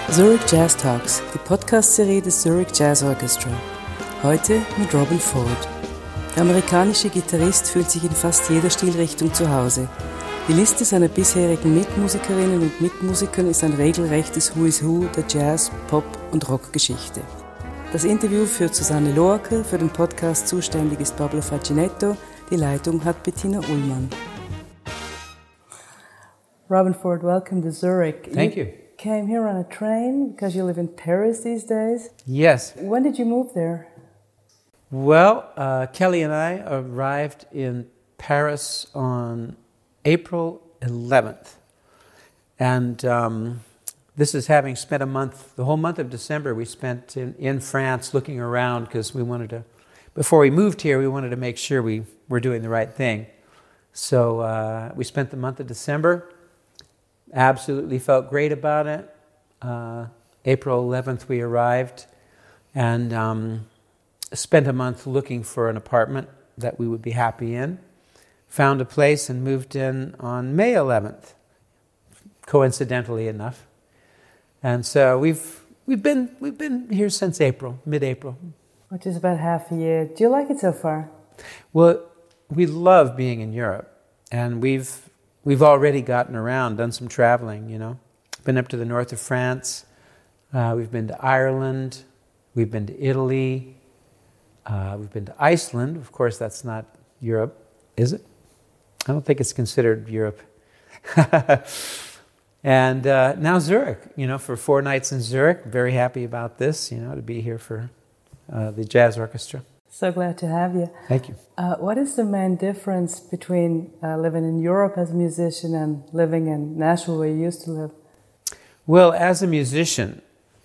Zurich Jazz Talks, die Podcast-Serie des Zurich Jazz Orchestra. Heute mit Robben Ford. Der amerikanische Gitarrist fühlt sich in fast jeder Stilrichtung zu Hause. Die Liste seiner bisherigen Mitmusikerinnen und Mitmusikern ist ein regelrechtes Who is Who der Jazz-, Pop- und Rockgeschichte. Das Interview führt Susanne Loacker, für den Podcast zuständig ist Pablo Facinetto, die Leitung hat Bettina Ullmann. Robben Ford, welcome to Zurich. Thank you. Came here on a train because you live in Paris these days? Yes. When did you move there? Well, Kelly and I arrived in Paris on April 11th. And this is having spent a month, the whole month of December we spent in France looking around because we wanted to, before we moved here, we wanted to make sure we were doing the right thing. So we spent the month of December. Absolutely felt great about it. April 11th we arrived and spent a month looking for an apartment that we would be happy in. Found a place and moved in on May 11th, coincidentally enough. And so we've been here since April, mid-April. Which is about half a year. Do you like it so far? Well, we love being in Europe, and we've already gotten around, done some traveling, you know. Been up to the north of France. We've been to Ireland. We've been to Italy. We've been to Iceland. Of course, that's not Europe, is it? I don't think it's considered Europe. And now Zurich, you know, for 4 nights in Zurich. Very happy about this, you know, to be here for the Jazz Orchestra. So glad to have you. Thank you. What is the main difference between living in Europe as a musician and living in Nashville where you used to live? Well, as a musician,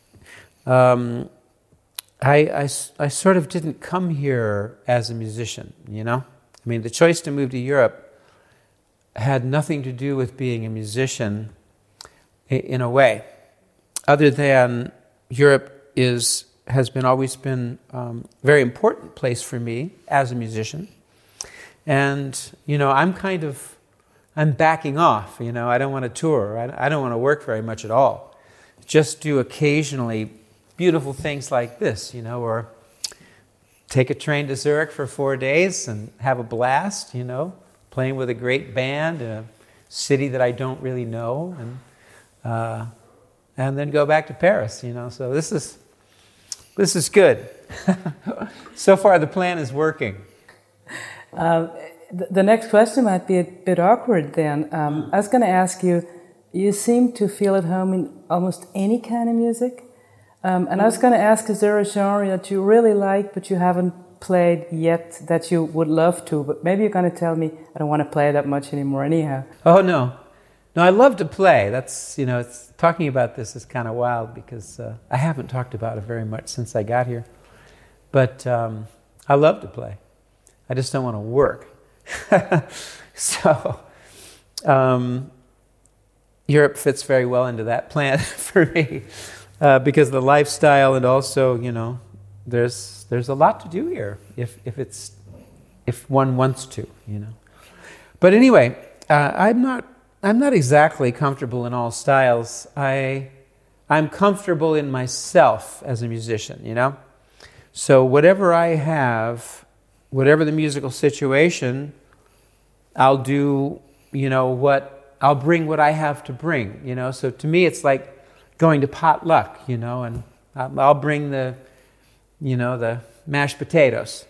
I sort of didn't come here as a musician, you know? I mean, the choice to move to Europe had nothing to do with being a musician in a way, other than Europe has always been a very important place for me as a musician. And, you know, I'm backing off, you know, I don't want to tour, I don't want to work very much at all. Just do occasionally beautiful things like this, you know, or take a train to Zurich for 4 days and have a blast, you know, playing with a great band in a city that I don't really know, and then go back to Paris, you know, so this is good. So far, the plan is working. The next question might be a bit awkward then. I was going to ask you, you seem to feel at home in almost any kind of music. And I was going to ask, is there a genre that you really like but you haven't played yet that you would love to? But maybe you're going to tell me, I don't want to play that much anymore anyhow. Oh, no. No, I love to play. That's, you know, talking about this is kind of wild because I haven't talked about it very much since I got here. But I love to play. I just don't want to work. So Europe fits very well into that plan for me because of the lifestyle, and also, you know, there's a lot to do here if one wants to, you know. But anyway, I'm not exactly comfortable in all styles. I'm comfortable in myself as a musician, you know. So whatever I have, whatever the musical situation, I'll do, you know, I'll bring what I have to bring, you know. So to me, it's like going to potluck, you know, and I'll bring the mashed potatoes.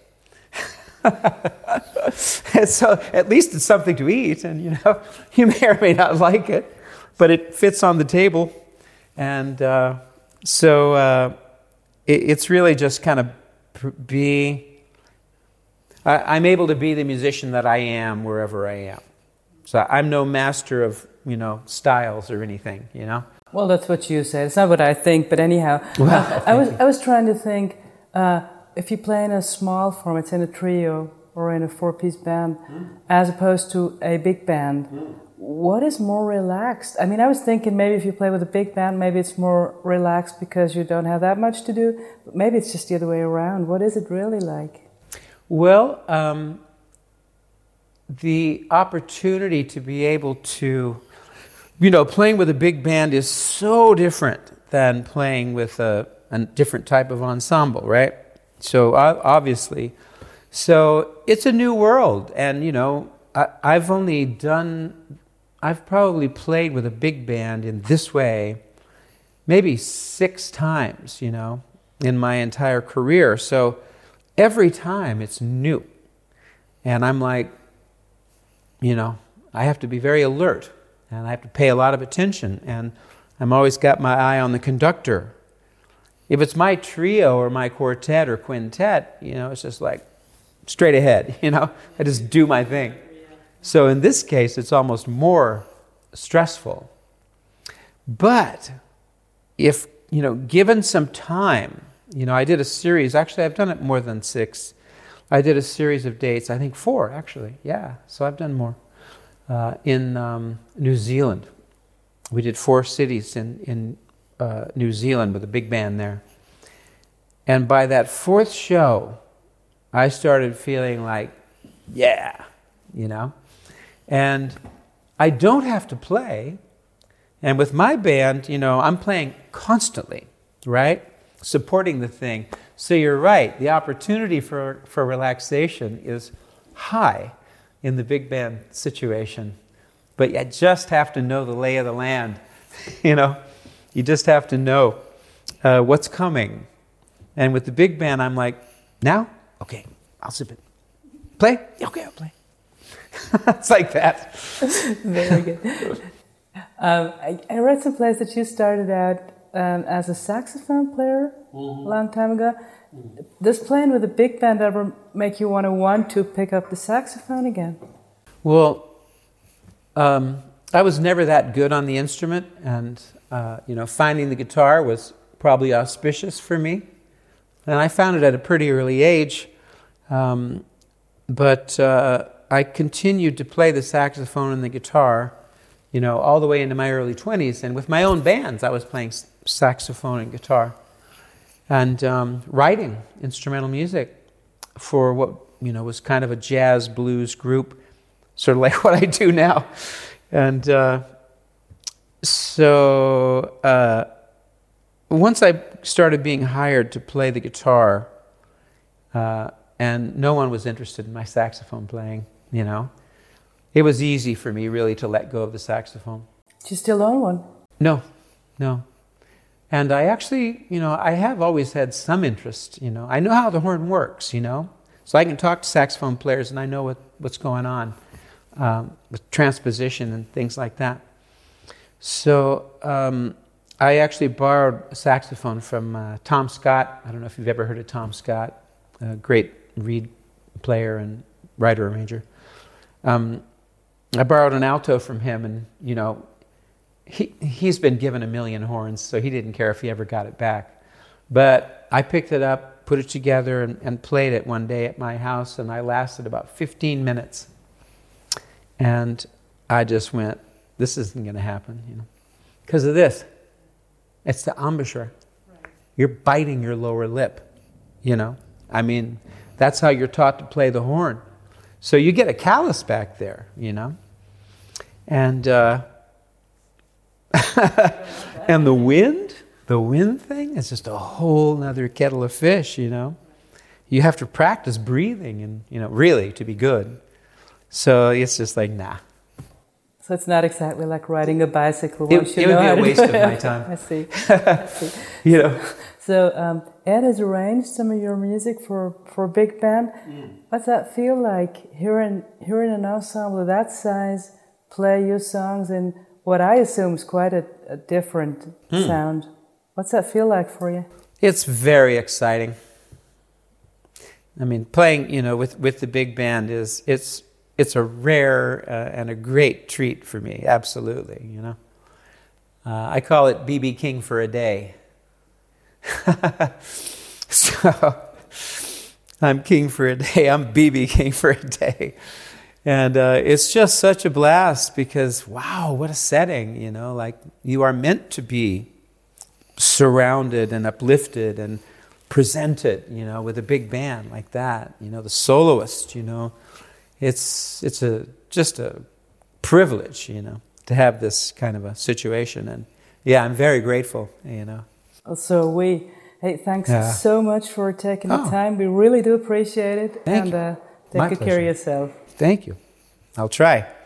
And so at least it's something to eat, and, you know, you may or may not like it, but it fits on the table. And so it's really just kind of I'm able to be the musician that I am wherever I am. So I'm no master of, you know, styles or anything, you know. Well, that's what you said. It's not what I think, but anyhow. Well, I was trying to think, if you play in a small form, it's in a trio or in a 4-piece band, as opposed to a big band, what is more relaxed? I mean, I was thinking maybe if you play with a big band, maybe it's more relaxed because you don't have that much to do, but maybe it's just the other way around. What is it really like? Well, the opportunity to be able to, you know, playing with a big band is so different than playing with a different type of ensemble, right? So obviously, so it's a new world, and I've probably played with a big band in this way maybe 6 times, in my entire career. So every time it's new, and I'm like, I have to be very alert, and I have to pay a lot of attention, and I'm always got my eye on the conductor. If it's my trio or my quartet or quintet, it's just like straight ahead, I just do my thing. So in this case, it's almost more stressful. But if, given some time, I did a series, actually I've done it more than 6. I did a series of dates, I think 4 actually, yeah, so I've done more, in New Zealand. We did 4 cities in New Zealand with a big band there. And by that 4th show, I started feeling like, yeah, and I don't have to play. And with my band, I'm playing constantly, right? Supporting the thing. So you're right, the opportunity for relaxation is high in the big band situation. But you just have to know the lay of the land, You just have to know what's coming. And with the big band, I'm like, now? Okay, I'll sip it. Play? Okay, I'll play. It's like that. Very good. I read some place that you started out as a saxophone player a long time ago. Does playing with a big band ever make you want to pick up the saxophone again? Well, I was never that good on the instrument, and finding the guitar was probably auspicious for me. And I found it at a pretty early age, but I continued to play the saxophone and the guitar, all the way into my early 20s. And with my own bands, I was playing saxophone and guitar, and writing instrumental music for what was kind of a jazz blues group, sort of like what I do now. And so once I started being hired to play the guitar, and no one was interested in my saxophone playing, it was easy for me really to let go of the saxophone. Do you still own one? No. And I actually, I have always had some interest, I know how the horn works, so I can talk to saxophone players and I know what's going on with transposition and things like that. So I actually borrowed a saxophone from Tom Scott. I don't know if you've ever heard of Tom Scott, a great reed player and writer-arranger. I borrowed an alto from him, and he's been given 1 million horns, so he didn't care if he ever got it back. But I picked it up, put it together, and played it one day at my house, and I lasted about 15 minutes. And I just went, this isn't going to happen, because of this. It's the embouchure. Right. You're biting your lower lip, that's how you're taught to play the horn. So you get a callus back there, And and the wind thing is just a whole nother kettle of fish, You have to practice breathing and, really to be good. So it's just like, nah. So it's not exactly like riding a bicycle. It would be a waste of my time. I see. You know. So Ed has arranged some of your music for a big band. What's that feel like, hearing an ensemble of that size play your songs in what I assume is quite a different sound? What's that feel like for you? It's very exciting. I mean, playing, with the big band it's a rare and a great treat for me. Absolutely, I call it BB King for a day. So I'm king for a day. I'm BB King for a day. And it's just such a blast because, wow, what a setting, like you are meant to be surrounded and uplifted and presented, with a big band like that, the soloist, it's just a privilege, to have this kind of a situation. And yeah, I'm very grateful, So hey, thanks so much for taking the time. We really do appreciate it. Thank you. Take good care of yourself. Thank you. I'll try.